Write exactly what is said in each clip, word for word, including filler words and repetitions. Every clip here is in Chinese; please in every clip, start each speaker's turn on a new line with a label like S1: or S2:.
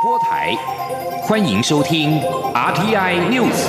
S1: 播台，欢迎收听 R T I News。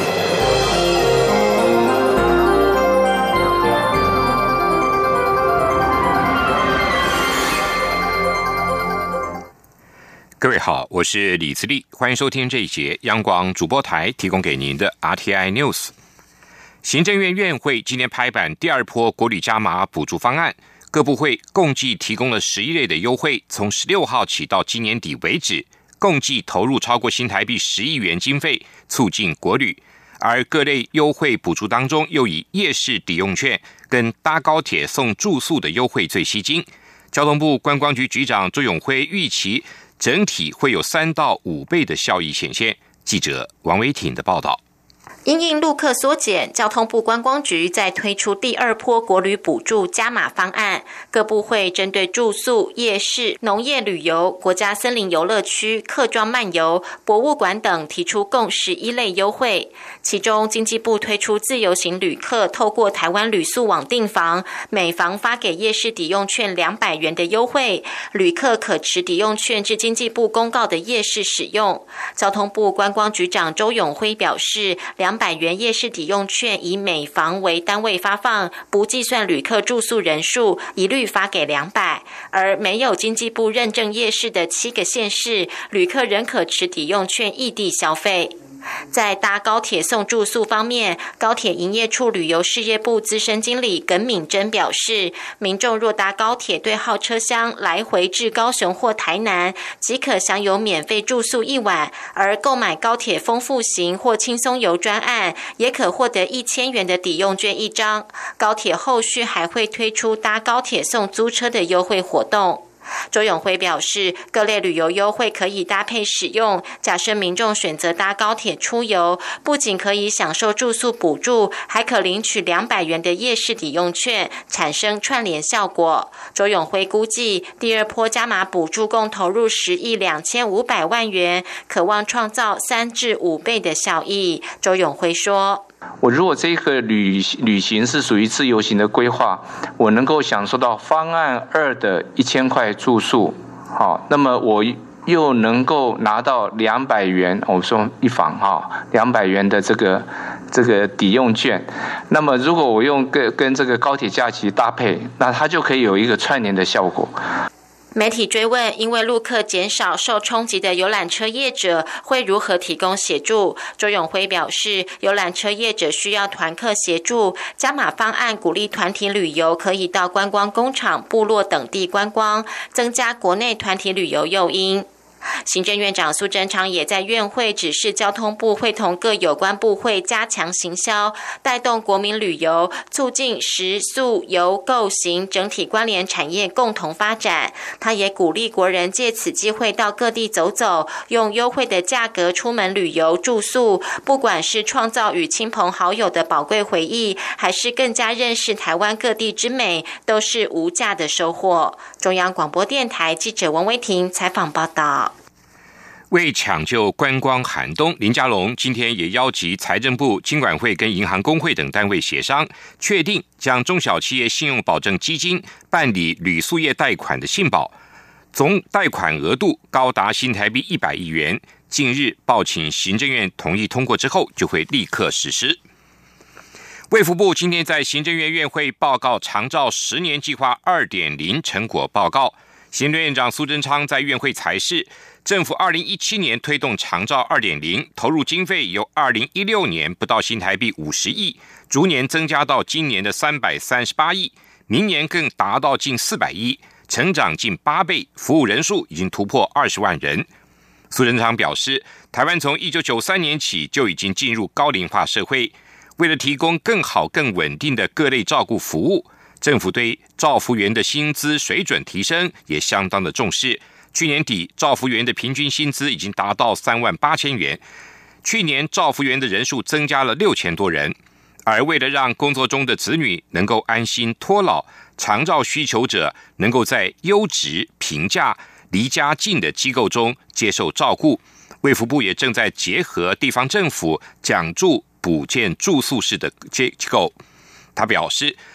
S1: 各位好，我是李自立，欢迎收听这一节央广主播台提供给您的 R T I News。行政院院会今天拍板第二波国旅加码补助方案，各部会共计提供了十一类的优惠，从十六号起到今年底为止，共计投入超过新台币十亿元经费，促进国旅。而各类优惠补助当中，又以夜市抵用券跟搭高铁送住宿的优惠最吸睛。交通部观光局局长周永辉预期整体会有三到五倍的效益显现。记者王维挺的报道。
S2: 因应陆客缩减，交通部观光局在推出第二波国旅补助加码方案，各部会针对住宿、夜市、农业旅游、国家森林游乐区、客庄漫游、博物馆等提出共十一类优惠。其中，经济部推出自由行旅客透过台湾旅宿网订房，每房发给夜市抵用券两百元的优惠，旅客可持抵用券至经济部公告的夜市使用。交通部观光局长周永辉表示，两百元夜市抵用券以每房为单位发放，不计算旅客住宿人数，一律发给两百。而没有经济部认证夜市的七个县市，旅客仍可持抵用券异地消费。在搭高铁送住宿方面，高铁营业处旅游事业部资深经理耿敏珍表示，民众若搭高铁对号车厢来回至高雄或台南，即可享有免费住宿一晚，而购买高铁丰富行或轻松游专案，也可获得一千元的抵用券一张。高铁后续还会推出搭高铁送租车的优惠活动。周永辉表示，各类旅游优惠可以搭配使用。假设民众选择搭高铁出游，不仅可以享受住宿补助，还可领取两百元的夜市抵用券，产生串联效果。周永辉估计，第二波加码补助共投入十亿两千五百万元，可望创造三至五倍的效益。周永辉说，
S3: 我如果这个旅旅行是属于自由行的规划，我能够享受到方案二的一千块住宿，好，那么我又能够拿到两百元，我说一房哈，两百元的这个这个抵用券。那么如果我用跟跟这个高铁假期搭配，那它就可以有一个串联的效果。
S2: 媒体追问，因为陆客减少，受冲击的游览车业者会如何提供协助？周永辉表示，游览车业者需要团客协助，加码方案鼓励团体旅游，可以到观光工厂、部落等地观光，增加国内团体旅游诱因。行政院长苏贞昌也在院会指示交通部会同各有关部会加强行销，带动国民旅游，促进食宿游购行整体关联产业共同发展。他也鼓励国人借此机会到各地走走，用优惠的价格出门旅游住宿，不管是创造与亲朋好友的宝贵回忆，还是更加认识台湾各地之美，都是无价的收获。中央广播电台记者王维婷采访报道。
S1: 为抢救观光寒冬，林佳龙今天也邀集财政部、金管会跟银行公会等单位协商，确定将中小企业信用保证基金办理旅宿业贷款的信保，总贷款额度高达新台币一百亿元。近日报请行政院同意通过之后，就会立刻实施。卫福部今天在行政院院会报告长照十年计划 二点零 成果报告，行政院长苏贞昌在院会裁示，政府二零一七年推动长照 二点零， 投入经费由二零一六年不到新台币五十亿，逐年增加到今年的三百三十八亿，明年更达到近四百亿，成长近八倍，服务人数已经突破二十万人。苏贞昌表示，台湾从一九九三年起就已经进入高龄化社会，为了提供更好更稳定的各类照顾服务，政府对照服员的薪资水准提升也相当的重视。去年底，照服员的平均薪资已经达到三万八千元。去年照服员的人数增加了六千多人。而为了让工作中的子女能够安心托老，长照需求者能够在优质、平价、离家近的机构中接受照顾，卫福部也正在结合地方政府奖助补建住宿式的机构。他表示，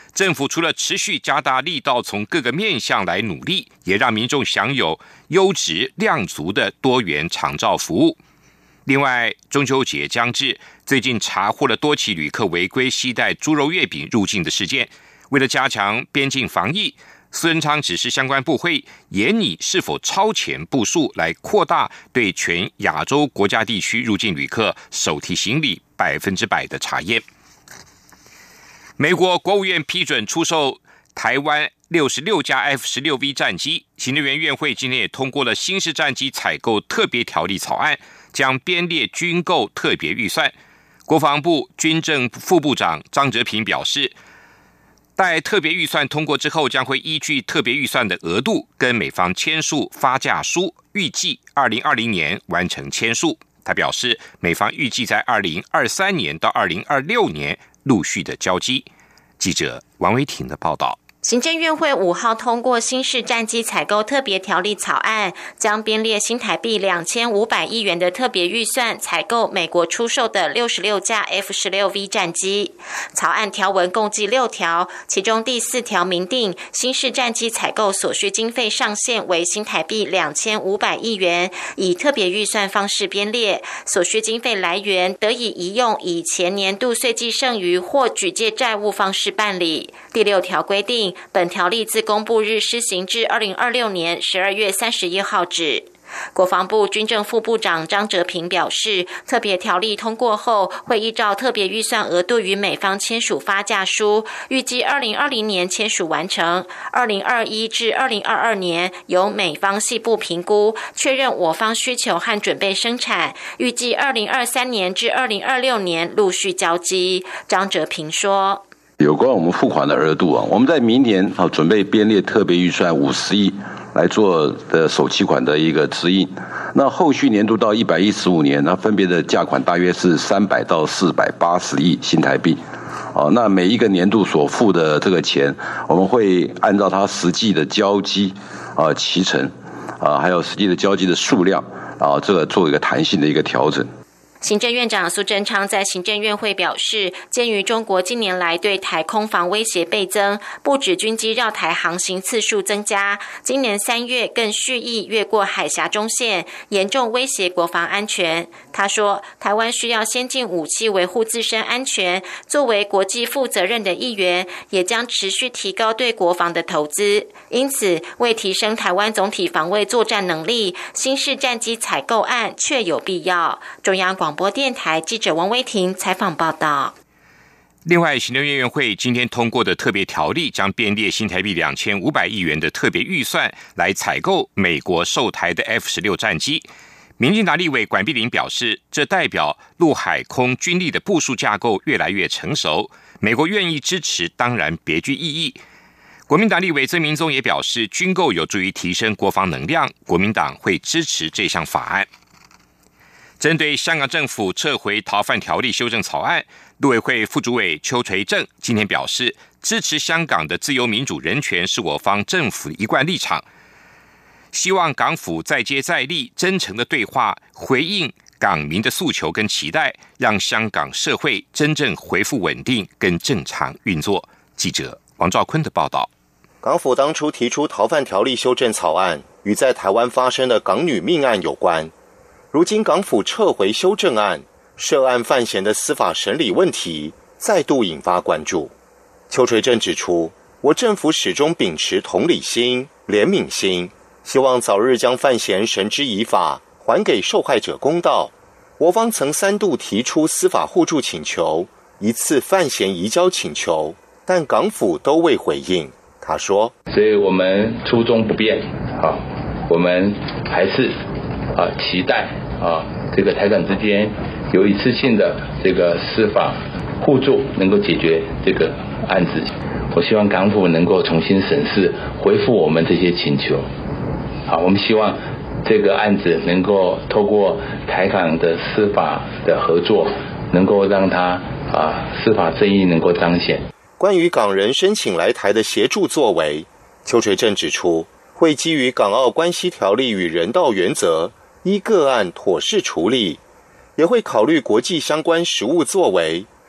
S1: 政府除了持续加大力道，从各个面向来努力，也让民众享有优质量足的多元长照服务。另外，中秋节将至，最近查获了多起旅客违规携带猪肉月饼入境的事件。为了加强边境防疫，苏贞昌指示相关部会研拟是否超前部署，来扩大对全亚洲国家地区入境旅客手提行李百分之百的查验。美国国务院批准出售台湾六十六架 F 十六 V 战机，行政院院会今天也通过了新式战机采购特别条例草案，将编列军购特别预算。国防部军政副部长张哲平表示，待特别预算通过之后，将会依据特别预算的额度跟美方签署发价书，预计二零二零年完成签署。他表示，美方预计在二零二三年到二零二六年陆续的交机。记者王维婷的报道。
S2: 行政院会五号通过新式战机采购特别条例草案，将编列新台币两千五百亿元的特别预算，采购美国出售的六十六架 F 十六 V 战机。草案条文共计六条，其中第四条明定，新式战机采购所需经费上限为新台币两千五百亿元，以特别预算方式编列，所需经费来源得以移用以前年度岁计剩余或举借债务方式办理。第六条规定，本条例自公布日施行至二零二六年十二月三十一号止。国防部军政副部长张哲平表示，特别条例通过后，会依照特别预算额度与美方签署发价书，预计二零二零年签署完成，二零二一至二零二二年由美方细部评估，确认我方需求和准备生产，预计二零二三年至二零二六年陆续交机。张哲平说，
S4: 有关我们付款的额度啊，我们在明年啊准备编列特别预算五十亿来做的首期款的一个指引。那后续年度到一百一十五年，那分别的价款大约是三百到四百八十亿新台币。哦，那每一个年度所付的这个钱，我们会按照它实际的交机啊期程啊，还有实际的交机的数量啊，这个做一个弹性的一个调整。
S2: 行政院长苏贞昌在行政院会表示，鉴于中国近年来对台空防威胁倍增，不止军机绕台航行次数增加，今年三月更蓄意越过海峡中线，严重威胁国防安全。他说，台湾需要先进武器维护自身安全，作为国际负责任的一员，也将持续提高对国防的投资。因此，为提升台湾总体防卫作战能力，新式战机采购案确有必要。中央广播电台记者王威婷采访报道。
S1: 另外，行政院院会今天通过的特别条例，将编列新台币两千五百亿元的特别预算，来采购美国售台的 F 十六 战机。民进党立委管碧玲表示，这代表陆海空军力的部署架构越来越成熟，美国愿意支持，当然别具意义。国民党立委曾明宗也表示，军购有助于提升国防能量，国民党会支持这项法案。针对香港政府撤回逃犯条例修正草案，陆委会副主委邱垂正今天表示，支持香港的自由民主人权是我方政府的一贯立场，希望港府再接再厉，真诚的对话，回应港民的诉求跟期待，让香港社会真正恢复稳定跟正常运作。记者王兆坤的报道。
S5: 港府当初提出逃犯条例修正草案，与在台湾发生的港女命案有关。如今港府撤回修正案，涉案犯嫌的司法审理问题再度引发关注。邱垂正指出，我政府始终秉持同理心、怜悯心，希望早日将犯嫌绳之以法，还给受害者公道。我方曾三度提出司法互助请求，一次犯嫌移交请求，但港府都未回应。他说，
S6: 所以我们初衷不变啊，我们还是啊期待啊这个台港之间有一次性的这个司法互助能够解决这个案子。我希望港府能够重新审视，回复我们这些请求。好，我们希望这个案子能够透过台港的司法的合作，能够让它啊司法正义能够彰显。
S5: 关于港人申请来台的协助作为，邱垂正指出，会基于港澳关系条例与人道原则，依个案妥适处理，也会考虑国际相关实务作为，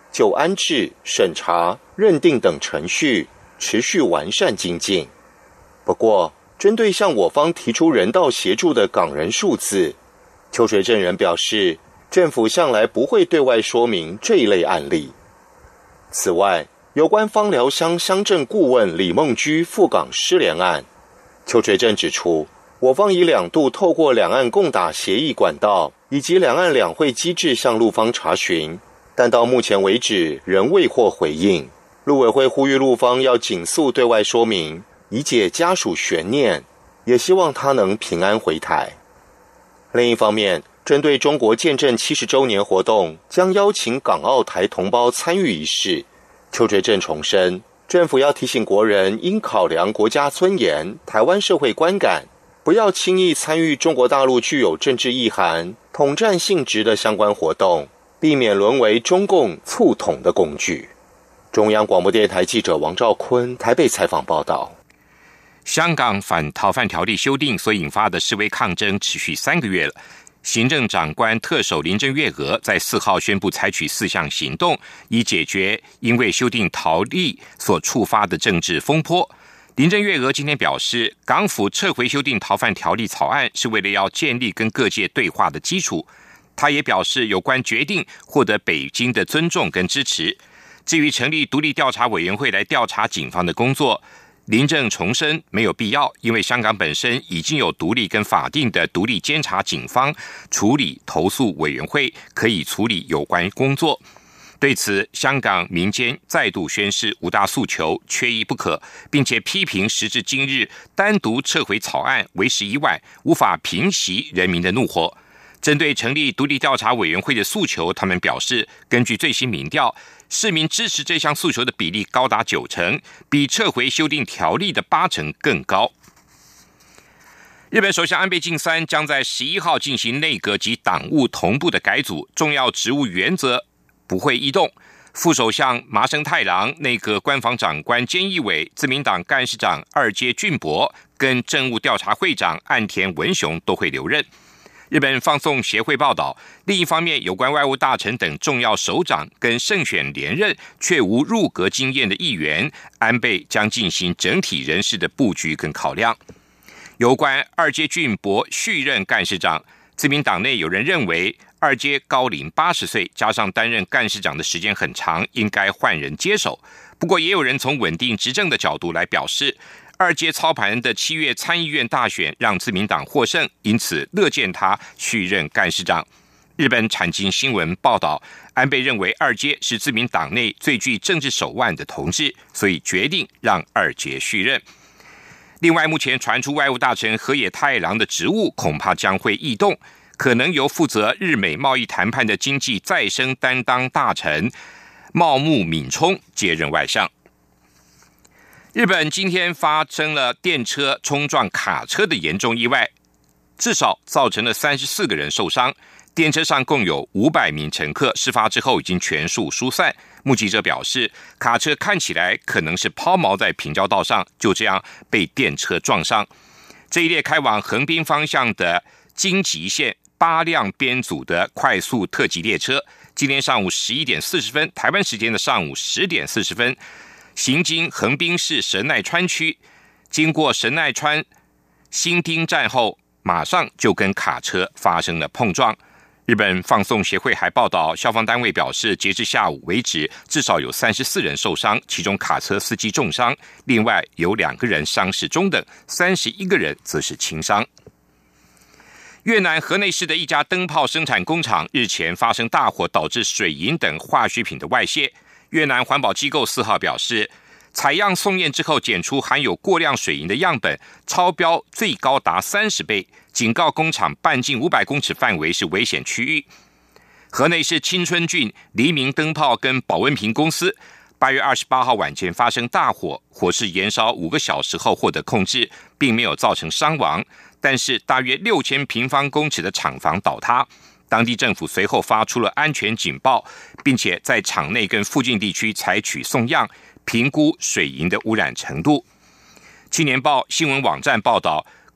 S5: 就安置、审查、认定等程序持续完善精进。不过，针对向我方提出人道协助的港人数字，邱垂正人表示，政府向来不会对外说明这一类案例。此外，有关枋寮乡乡镇顾问李梦居赴港失联案，邱垂正指出，我方已两度透过两岸共打协议管道以及两岸两会机制向陆方查询，但到目前为止仍未获回应。陆委会呼吁陆方要尽速对外说明，以解家属悬念，也希望他能平安回台。另一方面，针对中国建政七十周年活动将邀请港澳台同胞参与仪式，邱垂正重申，政府要提醒国人应考量国家尊严、台湾社会观感，不要轻易参与中国大陆具有政治意涵、统战性质的相关活动，避免沦为中共促统的工具。中央广播电台记者王兆坤台北采访报道。
S1: 香港反逃犯条例修订所引发的示威抗争持续三个月了。行政长官特首林郑月娥在四号宣布采取四项行动，以解决因为修订条例所触发的政治风波。林郑月娥今天表示，港府撤回修订逃犯条例草案是为了要建立跟各界对话的基础。他也表示，有关决定获得北京的尊重跟支持。至于成立独立调查委员会来调查警方的工作，林郑重申没有必要，因为香港本身已经有独立跟法定的独立监察警方处理投诉委员会，可以处理有关工作。对此，香港民间再度宣示五大诉求缺一不可，并且批评时至今日单独撤回草案为时已晚，无法平息人民的怒火。针对成立独立调查委员会的诉求，他们表示，根据最新民调，市民支持这项诉求的比例高达九成，比撤回修订条例的八成更高。日本首相安倍晋三将在十一号进行内阁及党务同步的改组，重要职务原则不会异动。副首相麻生太郎、内阁官房长官菅义伟、自民党干事长二阶俊博跟政务调查会长岸田文雄都会留任。日本放送协会报道，另一方面，有关外务大臣等重要首长跟胜选连任却无入阁经验的议员，安倍将进行整体人事的布局跟考量。有关二阶俊博续任干事长，自民党内有人认为，二阶高龄八十岁，加上担任干事长的时间很长，应该换人接手。不过，也有人从稳定执政的角度来表示，二阶操盘的七月参议院大选让自民党获胜，因此乐见他续任干事长。日本产经新闻报道，安倍认为二阶是自民党内最具政治手腕的同志，所以决定让二阶续任。另外，目前传出外务大臣河野太郎的职务恐怕将会异动，可能由负责日美贸易谈判的经济再生担当大臣茂木敏充接任外相。日本今天发生了电车冲撞卡车的严重意外，至少造成了三十四个人受伤。电车上共有五百名乘客，事发之后已经全数疏散。目击者表示，卡车看起来可能是抛锚在平交道上，就这样被电车撞上。这一列开往横滨方向的京急线八辆编组的快速特急列车，今天上午十一点四十分，台湾时间的上午十点四十分，行经横滨市神奈川区，经过神奈川新町站后，马上就跟卡车发生了碰撞。日本放送协会还报道，消防单位表示，截至下午为止，至少有三十四人受伤，其中卡车司机重伤，另外有两个人伤势中等，三十一个人则是轻伤。越南河内市的一家灯泡生产工厂日前发生大火，导致水银等化学品的外泄。越南环保机构四号表示，采样送验之后检出含有过量水银的样本超标最高达三十倍，警告工厂半径五百公尺范围是危险区域。河内市青春郡黎明灯泡跟保温瓶公司八月二十八号晚间发生大火，火势延烧五个小时后获得控制，并没有造成伤亡，但是大约六千平方公尺的厂房倒塌。当地政府随后发出了安全警报，并且在厂内跟附近地区采取送样，评估水银的污染程度。青年报新闻网站报道，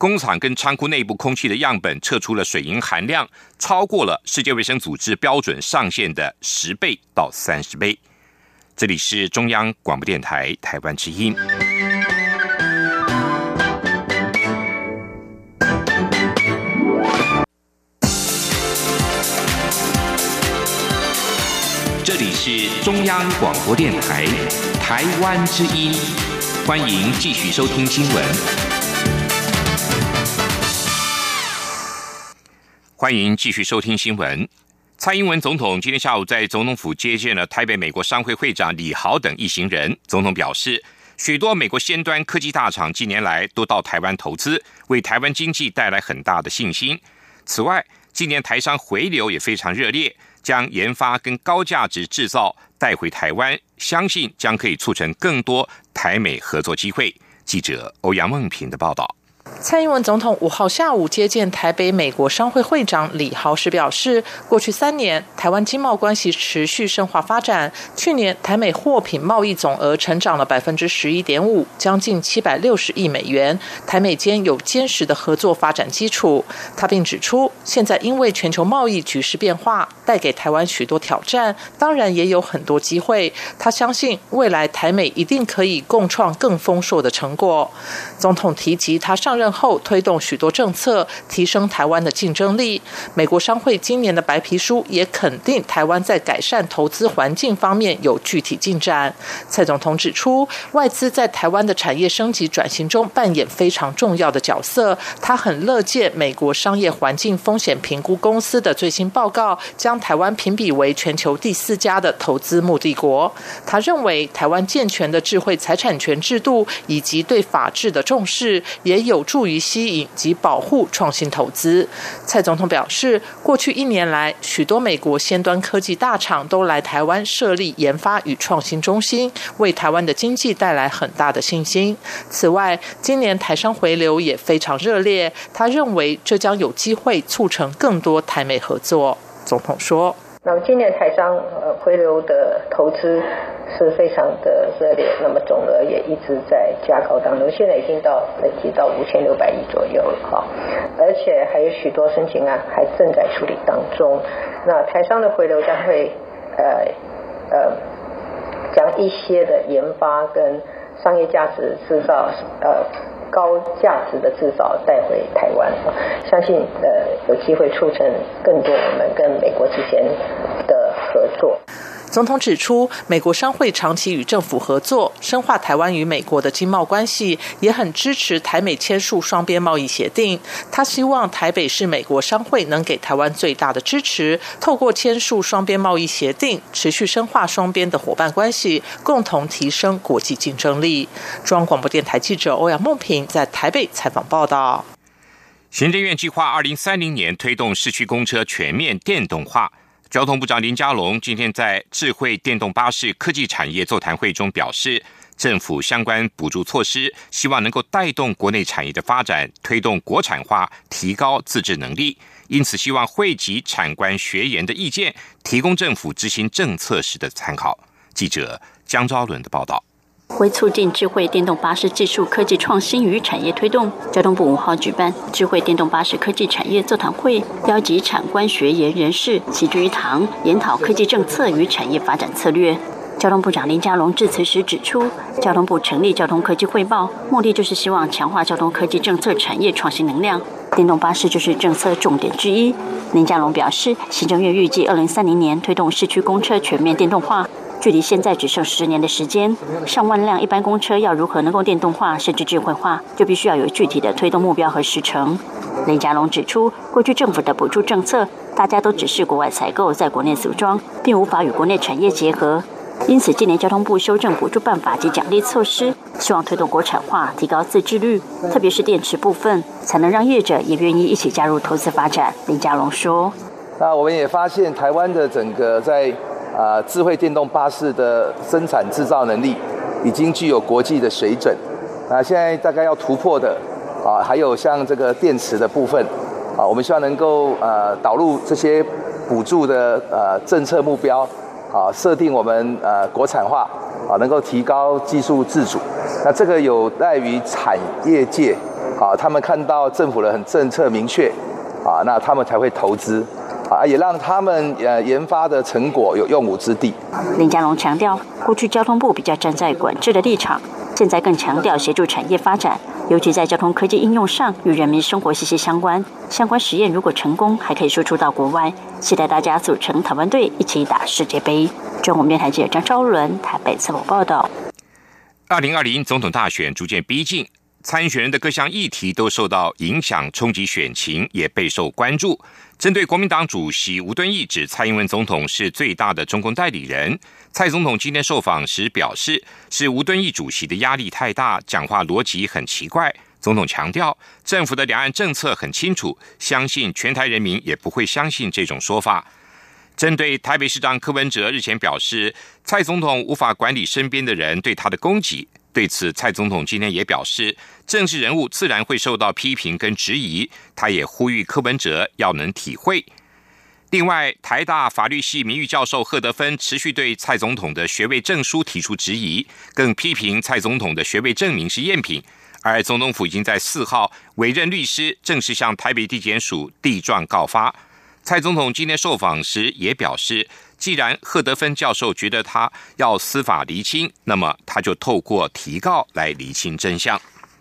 S1: 工厂跟仓库内部空气的样本测出了水银含量超过了世界卫生组织标准上限的十倍到三十倍。这里是中央广播电台台湾之音。这里是中央广播电台台湾之音，欢迎继续收听新闻。欢迎继续收听新闻。蔡英文总统今天下午在总统府接见了台北美国商会会长李豪等一行人。总统表示，许多美国先端科技大厂近年来都到台湾投资，为台湾经济带来很大的信心。此外，今年台商回流也非常热烈，将研发跟高价值制造带回台湾，相信将可以促成更多台美合作机会。记者欧阳梦平的报道。
S7: 蔡英文总统五号下午接见台北美国商会会长李豪时表示，过去三年台湾经贸关系持续深化发展，去年台美货品贸易总额成长了 百分之十一点五， 将近七百六十亿美元，台美间有坚实的合作发展基础。他并指出，现在因为全球贸易局势变化，带给台湾许多挑战，当然也有很多机会。他相信未来台美一定可以共创更丰硕的成果。总统提及他上任后推动许多政策，提升台湾的竞争力。美国商会今年的白皮书也肯定台湾在改善投资环境方面有具体进展。蔡总统指出，外资在台湾的产业升级转型中扮演非常重要的角色。他很乐见美国商业环境风险评估公司的最新报告，将台湾评比为全球第四家的投资目的国。他认为，台湾健全的智慧财产权制度以及对法治的重视，也有助于吸引及保护创新投资。蔡总统表示，过去一年来，许多美国先端科技大厂都来台湾设立研发与创新中心，为台湾的经济带来很大的信心。此外，今年台商回流也非常热烈，他认为这将有机会促成更多台美合作。总统说，
S8: 那么今年台商呃回流的投资是非常的热烈，那么总额也一直在加高当中，现在已经到累积到五千六百亿左右了哈，而且还有许多申请案还正在处理当中。那台商的回流将会呃呃将一些的研发跟商业价值制造呃高价值的制造带回台湾，相信呃有机会促成更多我们跟美国之间的合作。
S7: 总统指出，美国商会长期与政府合作，深化台湾与美国的经贸关系，也很支持台美签署双边贸易协定。他希望台北市美国商会能给台湾最大的支持，透过签署双边贸易协定，持续深化双边的伙伴关系，共同提升国际竞争力。中央广播电台记者欧阳梦平在台北采访报道。
S1: 行政院计划二零三零年推动市区公车全面电动化。交通部长林佳龙今天在智慧电动巴士科技产业座谈会中表示，政府相关补助措施希望能够带动国内产业的发展，推动国产化，提高自制能力，因此希望汇集产官学研的意见，提供政府执行政策时的参考。记者江昭伦的报道。
S9: 为促进智慧电动巴士技术科技创新与产业推动，交通部五号举办智慧电动巴士科技产业座谈会，邀集产官学研人士齐聚一堂，研讨科技政策与产业发展策略。交通部长林佳龙致辞时指出，交通部成立交通科技汇报，目的就是希望强化交通科技政策产业创新能量，电动巴士就是政策重点之一。林佳龙表示，行政院预计二零三零年推动市区公车全面电动化，距离现在只剩十年的时间，上万辆一般公车要如何能够电动化甚至智慧化，就必须要有具体的推动目标和时程。林佳龙指出，过去政府的补助政策，大家都只是国外采购，在国内组装，并无法与国内产业结合。因此，今年交通部修正补助办法及奖励措施，希望推动国产化，提高自制率，特别是电池部分，才能让业者也愿意一起加入投资发展。林佳龙说：“
S10: 那我们也发现，台湾的整个在啊、呃、智慧电动巴士的生产制造能力，已经具有国际的水准。那现在大概要突破的啊，还有像这个电池的部分啊，我们希望能够呃导入这些补助的呃政策目标。”啊，设定我们呃国产化啊，能够提高技术自主。那这个有赖于产业界啊，他们看到政府的很政策明确，啊，那他们才会投资，啊，也让他们呃研发的成果有用武之地。
S9: 林佳龙强调，过去交通部比较站在管制的立场，现在更强调协助产业发展，尤其在交通科技应用上与人民生活息息相关。相关实验如果成功，还可以输出到国外。期待大家组成台湾队，一起打世界杯。中国电台记者张昭伦台北采访报道。
S1: 二零二零总统大选逐渐逼近，参选人的各项议题都受到影响，冲击选情，也备受关注。针对国民党主席吴敦义指蔡英文总统是最大的中共代理人，蔡总统今天受访时表示，是吴敦义主席的压力太大，讲话逻辑很奇怪。总统强调，政府的两岸政策很清楚，相信全台人民也不会相信这种说法。针对台北市长柯文哲日前表示，蔡总统无法管理身边的人对他的攻击，对此蔡总统今天也表示，政治人物自然会受到批评跟质疑，他也呼吁柯文哲要能体会。另外，台大法律系名誉教授贺德芬持续对蔡总统的学位证书提出质疑，更批评蔡总统的学位证明是赝品，而总统府已经在四号委任律师正式向台北地检署递状告发。蔡总统今天受访时也表示，既然贺德芬教授觉得他要司法厘清，那么他就透过提告来厘清真相。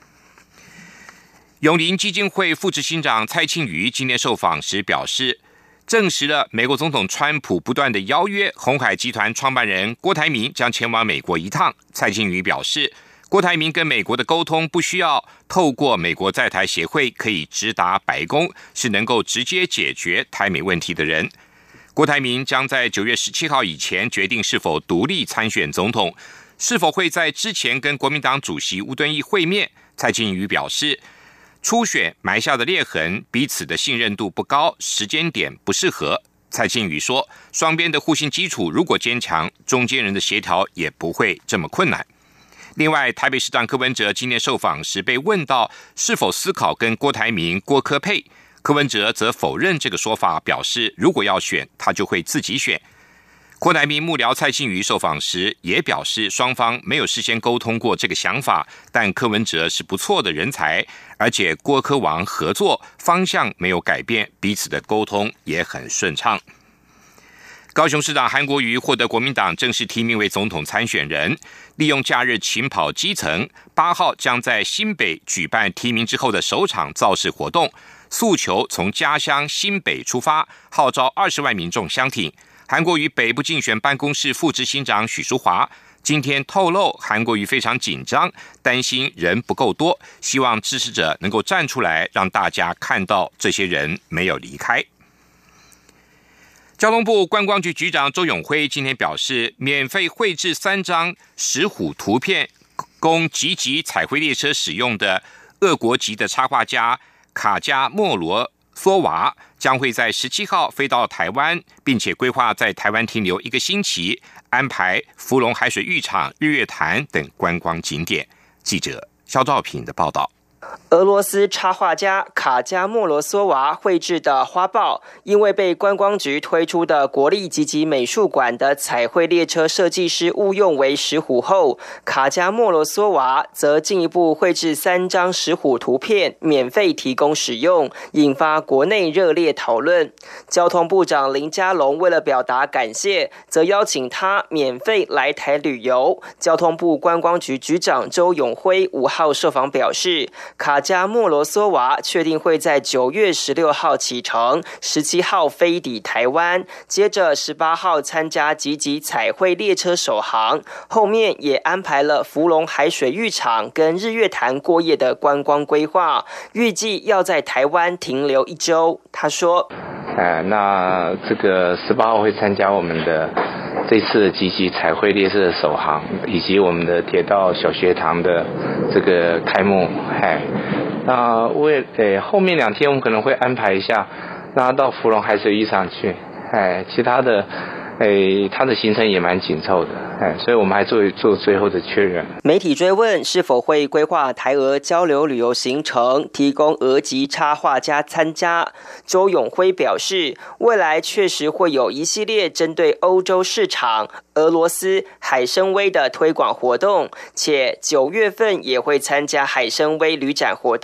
S1: 永林基金会副执行长蔡庆瑜今天受访时表示，证实了美国总统川普不断的邀约鸿海集团创办人郭台铭将前往美国一趟。蔡庆瑜表示，郭台铭跟美国的沟通不需要透过美国在台协会，可以直达白宫，是能够直接解决台美问题的人。郭台铭将在九月十七号以前决定是否独立参选总统，是否会在之前跟国民党主席吴敦义会面。蔡庆瑜表示，初选埋下的裂痕，彼此的信任度不高，时间点不适合。蔡庆瑜说，双边的互信基础如果坚强，中间人的协调也不会这么困难。另外，台北市长柯文哲今天受访时被问到是否思考跟郭台铭、郭柯配，柯文哲则否认这个说法，表示如果要选，他就会自己选。郭台铭幕僚蔡庆瑜受访时也表示，双方没有事先沟通过这个想法，但柯文哲是不错的人才，而且郭柯王合作方向没有改变，彼此的沟通也很顺畅。高雄市长韩国瑜获得国民党正式提名为总统参选人，利用假日勤跑基层，八号将在新北举办提名之后的首场造势活动，诉求从家乡新北出发，号召二十万民众相挺。韩国瑜北部竞选办公室副执行长许淑华今天透露，韩国瑜非常紧张，担心人不够多，希望支持者能够站出来，让大家看到这些人没有离开。交通部观光局局长周永辉今天表示，免费绘制三张石虎图片供集集彩绘列车使用的俄国籍的插画家卡加莫罗索娃将会在十七号飞到台湾，并且规划在台湾停留一个星期，安排福隆海水浴场、日月潭等观光景点。记者肖兆平的报道。
S11: 俄罗斯插画家卡加莫罗索娃绘制的花豹，因为被观光局推出的国立集集美术馆的彩绘列车设计师误用为石虎后，卡加莫罗索娃则进一步绘制三张石虎图片，免费提供使用，引发国内热烈讨论。交通部长林佳龙为了表达感谢，则邀请他免费来台旅游。交通部观光局局长周永辉五号受访表示，卡加莫罗索娃确定会在九月十六号启程，十七号飞抵台湾，接着十八号参加集集彩绘列车首航，后面也安排了福隆海水浴场跟日月潭过夜的观光规划，预计要在台湾停留一周。他说：“
S3: 哎，那这个十八号会参加我们的这次集集彩绘列车的首航，以及我们的铁道小学堂的这个开幕。哎，那为诶后面两天我们可能会安排一下，让他到福隆海水浴场去。哎，其他的。”诶，他的行程也蛮紧凑的，哎，所以我们还做做最后的确认。
S11: 媒体追问是否会规划台俄交流旅游行程，提供俄籍插画家参加，周永辉表示，未来确实会有一系列针对欧洲市场、俄罗斯、海参崴的推广活动，且九月份也会参加海参崴旅展活动。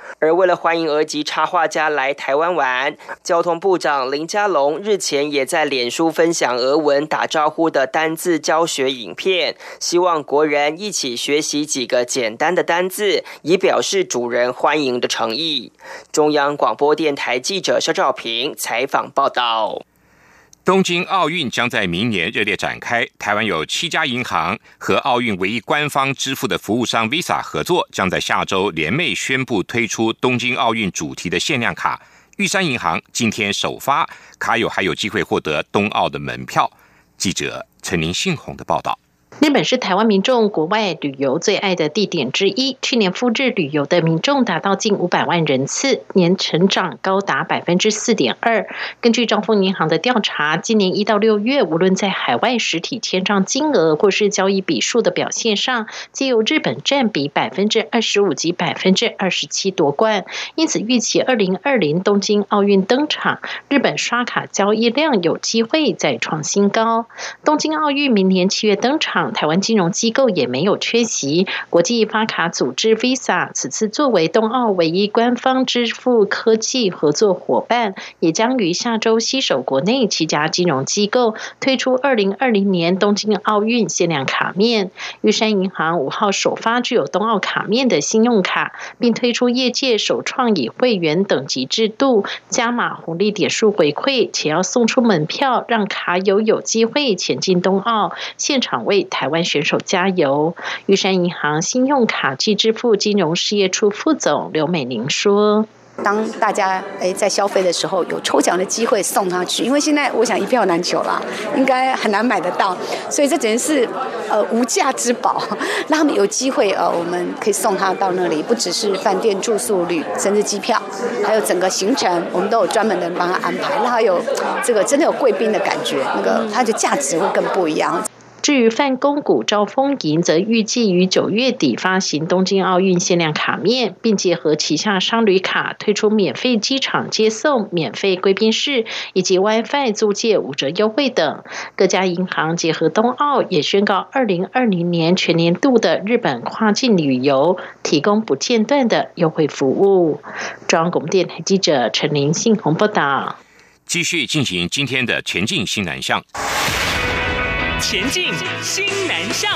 S11: 而为了欢迎俄籍插画家来台湾玩，交通部长林佳龙日前也在脸书分享俄文打招呼的单字教学影片，希望国人一起学习几个简单的单字，以表示主人欢迎的诚意。中央广播电台记者肖兆平采访报道。
S1: 东京奥运将在明年热烈展开，台湾有七家银行和奥运唯一官方支付的服务商 Visa 合作，将在下周联袂宣布推出东京奥运主题的限量卡。玉山银行今天首发，卡友还有机会获得冬奥的门票。记者陈林信宏的报道。
S12: 日本是台湾民众国外旅游最爱的地点之一，去年赴日旅游的民众达到近五百万人次，年成长高达 百分之四点二。 根据兆丰银行的调查，今年一到六月，无论在海外实体签账金额或是交易笔数的表现上，皆由日本占比 百分之二十五 及 百分之二十七 夺冠。因此预期二零二零东京奥运登场，日本刷卡交易量有机会再创新高。东京奥运明年七月登场，台湾金融机构也没有缺席，国际发卡组织 Visa 此次作为冬奥唯一官方支付科技合作伙伴，也将于下周携手国内七家金融机构推出二零二零年东京奥运限量卡面。玉山银行五号首发具有冬奥卡面的信用卡，并推出业界首创以会员等级制度加码红利点数回馈，且要送出门票，让卡友有机会前进冬奥，现场为台湾选手加油。玉山银行信用卡及支付金融事业处副总刘美玲说，
S13: 当大家诶在消费的时候有抽奖的机会送他去，因为现在我想一票难求啦，应该很难买得到，所以这简直是呃无价之宝，让他们有机会呃我们可以送他到那里，不只是饭店住宿旅，甚至机票，还有整个行程，我们都有专门的人帮他安排，让他有这个真的有贵宾的感觉，那个它的价值会更不一样。
S12: 至于泛公股兆丰银则预计于九月底发行东京奥运限量卡面，并结合旗下商旅卡推出免费机场接送、免费贵宾室以及 WiFi 租借五折优惠等。各家银行结合冬奥，也宣告二零二零年全年度的日本跨境旅游提供不间断的优惠服务。中央广播电台记者陈林信宏报道。
S1: 继续进行今天的前进新南向。
S14: 前进新南向。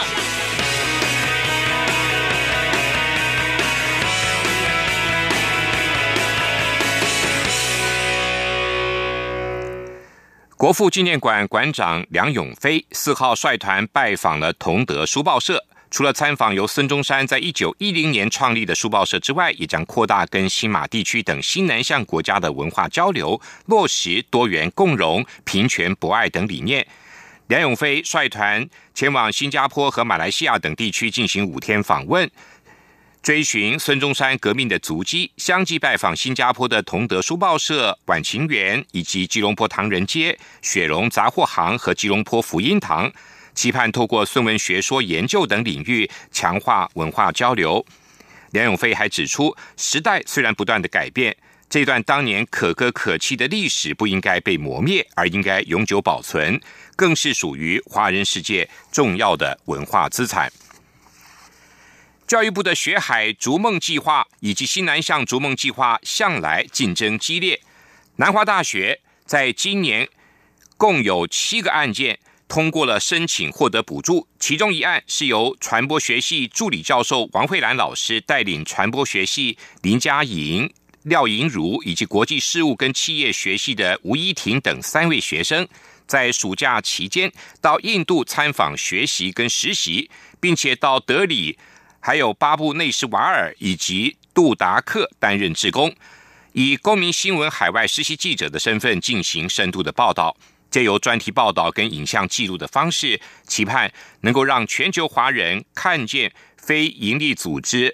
S1: 国父纪念馆馆长梁永飞四号率团拜访了同德书报社，除了参访由孙中山在一九一零年创立的书报社之外，也将扩大跟新马地区等新南向国家的文化交流，落实多元共荣、平权博爱等理念。梁永飞率团前往新加坡和马来西亚等地区进行五天访问，追寻孙中山革命的足迹，相继拜访新加坡的同德书报社、晚晴园以及吉隆坡唐人街、雪荣杂货行和吉隆坡福音堂，期盼透过孙文学说研究等领域强化文化交流。梁永飞还指出，时代虽然不断的改变，这段当年可歌可泣的历史不应该被磨灭，而应该永久保存，更是属于华人世界重要的文化资产。教育部的学海逐梦计划以及新南向逐梦计划向来竞争激烈，南华大学在今年共有七个案件通过了申请获得补助，其中一案是由传播学系助理教授王慧兰老师带领传播学系林佳莹、廖莹如以及国际事务跟企业学系的吴依婷等三位学生，在暑假期间到印度参访学习跟实习，并且到德里还有巴布内什瓦尔以及杜达克担任志工，以公民新闻海外实习记者的身份进行深度的报道，借由专题报道跟影像记录的方式，期盼能够让全球华人看见非营利组织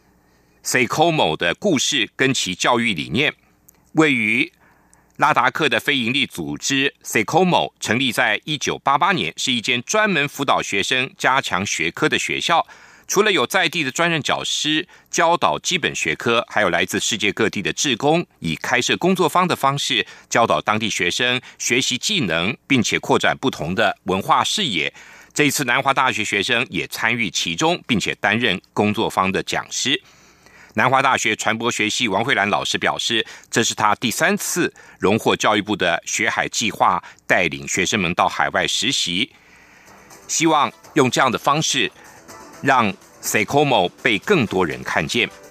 S1: S E C O M O 的故事跟其教育理念。位于拉达克的非营利组织 S E C O M O 成立在一九八八年，是一间专门辅导学生加强学科的学校。除了有在地的专任教师教导基本学科，还有来自世界各地的志工，以开设工作坊的方式教导当地学生学习技能，并且扩展不同的文化视野。这一次南华大学学生也参与其中，并且担任工作坊的讲师。 南华大学传播学系王慧兰老师表示，这是他第三次荣获教育部的学海计划，带领学生们到海外实习，希望用这样的方式让 S E C O M O 被更多人看见。